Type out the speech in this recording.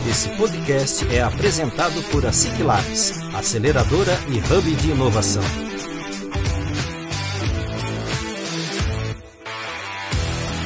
Esse podcast é apresentado por a SIC Labs, aceleradora e hub de inovação.